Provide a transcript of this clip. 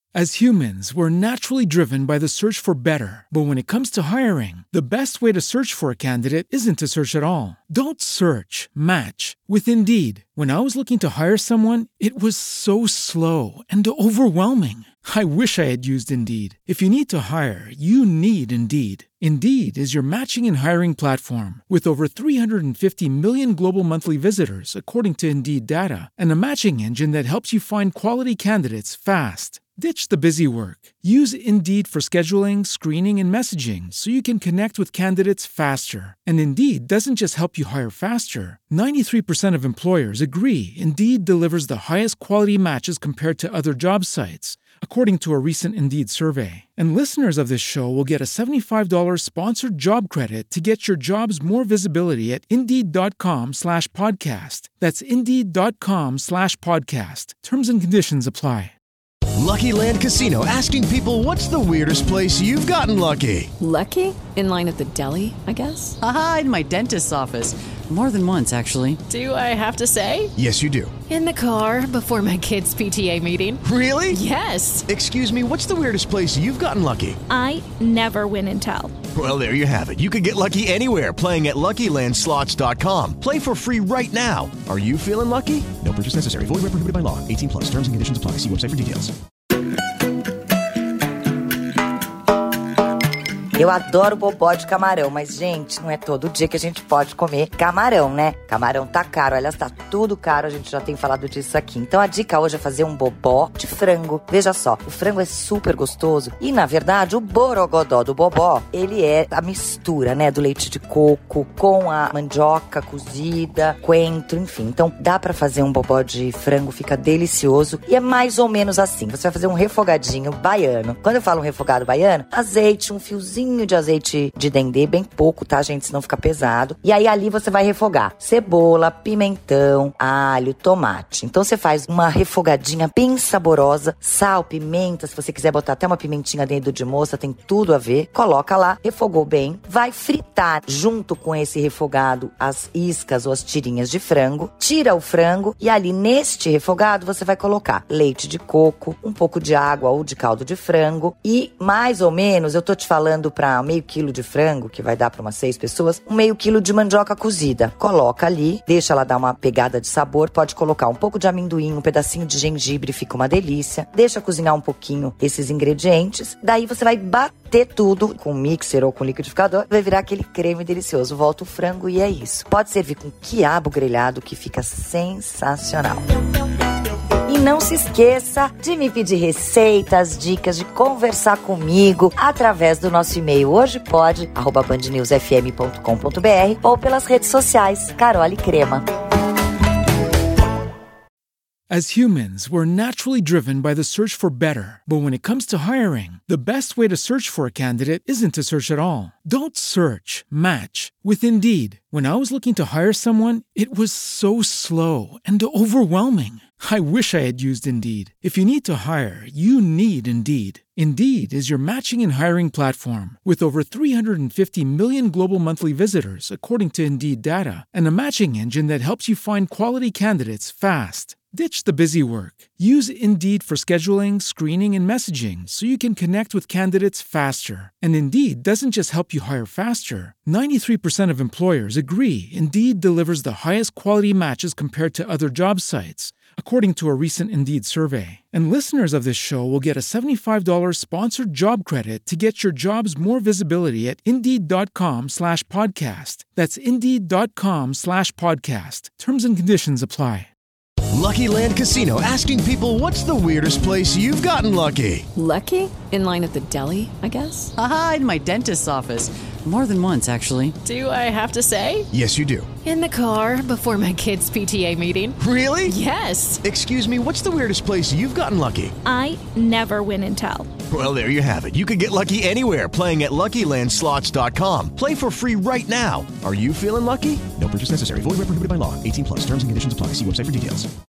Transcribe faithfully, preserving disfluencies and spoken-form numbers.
As humans, we're naturally driven by the search for better. But when it comes to hiring, the best way to search for a candidate isn't to search at all. Don't search, match with Indeed. When I was looking to hire someone, it was so slow and overwhelming. I wish I had used Indeed. If you need to hire, you need Indeed. Indeed is your matching and hiring platform with over three hundred fifty million global monthly visitors, according to Indeed data, and a matching engine that helps you find quality candidates fast. Ditch the busy work. Use Indeed for scheduling, screening, and messaging so you can connect with candidates faster. And Indeed doesn't just help you hire faster. ninety-three percent of employers agree Indeed delivers the highest quality matches compared to other job sites, according to a recent Indeed survey. And listeners of this show will get a seventy-five dollars sponsored job credit to get your jobs more visibility at Indeed.com slash podcast. That's Indeed.com slash podcast. Terms and conditions apply. Lucky Land Casino, asking people, what's the weirdest place you've gotten lucky? Lucky? In line at the deli, I guess? Aha, in my dentist's office. More than once, actually. Do I have to say? Yes, you do. In the car before my kids' P T A meeting. Really? Yes. Excuse me, what's the weirdest place you've gotten lucky? I never win and tell. Well, there you have it. You can get lucky anywhere, playing at Lucky Land Slots dot com. Play for free right now. Are you feeling lucky? No purchase necessary. Void where prohibited by law. eighteen plus. Terms and conditions apply. See website for details. Eu adoro bobó de camarão, mas, gente, não é todo dia que a gente pode comer camarão, né? Camarão tá caro, aliás, tá tudo caro, a gente já tem falado disso aqui. Então, a dica hoje é fazer um bobó de frango. Veja só, o frango é super gostoso e, na verdade, o borogodó do bobó, ele é a mistura, né, do leite de coco com a mandioca cozida, coentro, enfim. Então, dá pra fazer um bobó de frango, fica delicioso e é mais ou menos assim. Você vai fazer um refogadinho baiano. Quando eu falo um refogado baiano, azeite, um fiozinho de azeite de dendê, bem pouco, tá, gente? Senão fica pesado. E aí, ali você vai refogar cebola, pimentão, alho, tomate. Então, você faz uma refogadinha bem saborosa, sal, pimenta, se você quiser botar até uma pimentinha dentro de moça, tem tudo a ver. Coloca lá, refogou bem, vai fritar junto com esse refogado as iscas ou as tirinhas de frango, tira o frango e ali neste refogado você vai colocar leite de coco, um pouco de água ou de caldo de frango e mais ou menos, eu tô te falando para meio quilo de frango, que vai dar para umas seis pessoas, um meio quilo de mandioca cozida. Coloca ali, deixa ela dar uma pegada de sabor, pode colocar um pouco de amendoim, um pedacinho de gengibre, fica uma delícia. Deixa cozinhar um pouquinho esses ingredientes, daí você vai bater tudo com mixer ou com liquidificador, vai virar aquele creme delicioso. Volta o frango e é isso. Pode servir com quiabo grelhado, que fica sensacional. E não se esqueça de me pedir receitas, dicas, de conversar comigo através do nosso e-mail hojepode arroba band news f m ponto com ponto b r ou pelas redes sociais Carole Crema. As humans, we're naturally driven by the search for better. But when it comes to hiring, the best way to search for a candidate isn't to search at all. Don't search, match with Indeed. When I was looking to hire someone, it was so slow and overwhelming. I wish I had used Indeed. If you need to hire, you need Indeed. Indeed is your matching and hiring platform with over three hundred fifty million global monthly visitors, according to Indeed data, and a matching engine that helps you find quality candidates fast. Ditch the busy work. Use Indeed for scheduling, screening, and messaging so you can connect with candidates faster. And Indeed doesn't just help you hire faster. ninety-three percent of employers agree Indeed delivers the highest quality matches compared to other job sites, according to a recent Indeed survey. And listeners of this show will get a seventy-five dollars sponsored job credit to get your jobs more visibility at Indeed.com slash podcast. That's Indeed.com slash podcast. Terms and conditions apply. Lucky Land Casino, asking people, what's the weirdest place you've gotten lucky? Lucky? In line at the deli, I guess? Aha, in my dentist's office. More than once, actually. Do I have to say? Yes, you do. In the car before my kids' P T A meeting. Really? Yes. Excuse me, what's the weirdest place you've gotten lucky? I never win and tell. Well, there you have it. You can get lucky anywhere, playing at Lucky Land Slots dot com. Play for free right now. Are you feeling lucky? No purchase necessary. Void where prohibited by law. eighteen plus. Terms and conditions apply. See website for details.